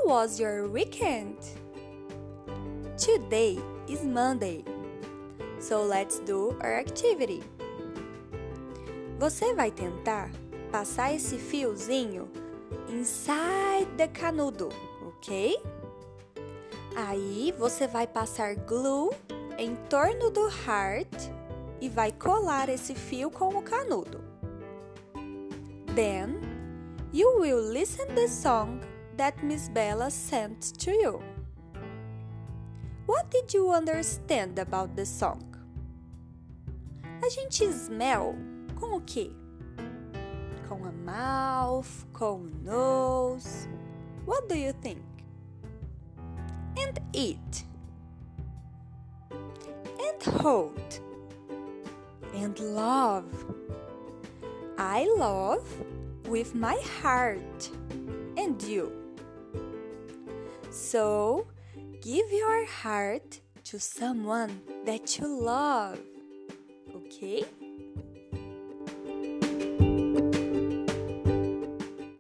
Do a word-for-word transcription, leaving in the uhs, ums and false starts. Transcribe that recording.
was your weekend? Today is Monday, so let's do our activity. Você vai tentar passar esse fiozinho inside the canudo, ok? Aí você vai passar glue em torno do heart e vai colar esse fio com o canudo. Then, you will listen the song that Miss Bella sent to you. What did you understand about the song? A gente smell com o quê? Com a mouth, com o nose. What do you think? And eat. And hold. And love. I love with my heart. And you? So, give your heart to someone that you love. Okay?